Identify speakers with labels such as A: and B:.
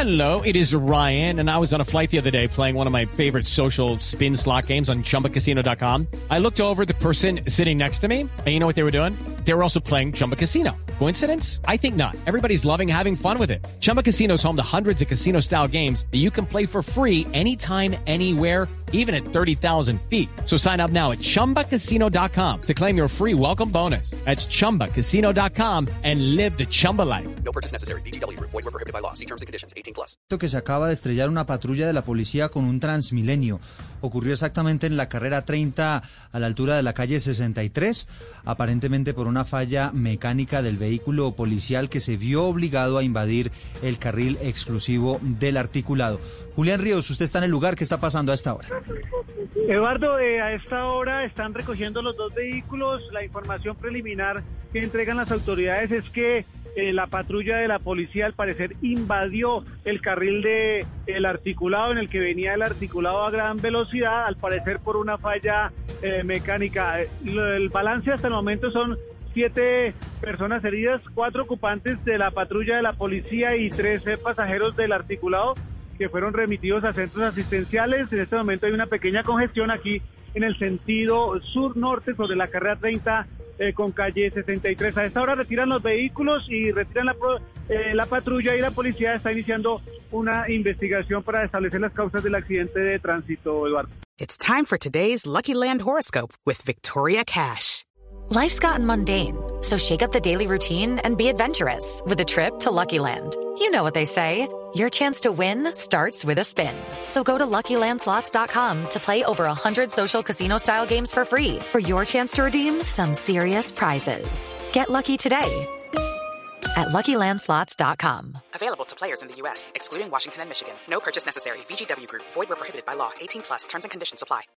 A: Hello, it is Ryan, and I was on a flight the other day playing one of my favorite social spin slot games on ChumbaCasino.com. I looked over at the person sitting next to me, and you know what they were doing? They were also playing Chumba Casino. Coincidence? I think not. Everybody's loving having fun with it. Chumba Casino is home to hundreds of casino-style games that you can play for free anytime, anywhere, even at 30,000 feet. So sign up now at ChumbaCasino.com to claim your free welcome bonus. That's ChumbaCasino.com and live the Chumba life.
B: No purchase necessary. VGW. Void were prohibited by law. See terms and conditions. 18+.
C: Que se acaba de estrellar una patrulla de la policía con un Transmilenio. Ocurrió exactamente en la carrera 30 a la altura de la calle 63, aparentemente por una falla mecánica del vehículo policial que se vio obligado a invadir el carril exclusivo del articulado. Julián Ríos, usted está en el lugar. ¿Qué está pasando a esta hora?
D: Eduardo, a esta hora están recogiendo los dos vehículos. La información preliminar que entregan las autoridades es que la patrulla de la policía al parecer invadió el carril del articulado en el que venía el articulado a gran velocidad, al parecer por una falla mecánica. El balance hasta el momento son 7 personas heridas, 4 ocupantes de la patrulla de la policía y 13 pasajeros del articulado que fueron remitidos a centros asistenciales. En este momento hay una pequeña congestión aquí en el sentido sur-norte sobre la carrera 30 con calle 63. A esta hora retiran los vehículos y retiran la patrulla, y la policía está iniciando una investigación para establecer las causas del accidente de tránsito, Eduardo.
E: It's time for today's Lucky Land horoscope with Victoria Cash.
F: Life's gotten mundane, so shake up the daily routine and be adventurous with a trip to Lucky Land. You know what they say, your chance to win starts with a spin. So go to LuckyLandSlots.com to play over 100 social casino-style games for free for your chance to redeem some serious prizes. Get lucky today at LuckyLandSlots.com.
E: Available to players in the U.S., excluding Washington and Michigan. No purchase necessary. VGW Group. Void where prohibited by law. 18+. Terms and conditions apply.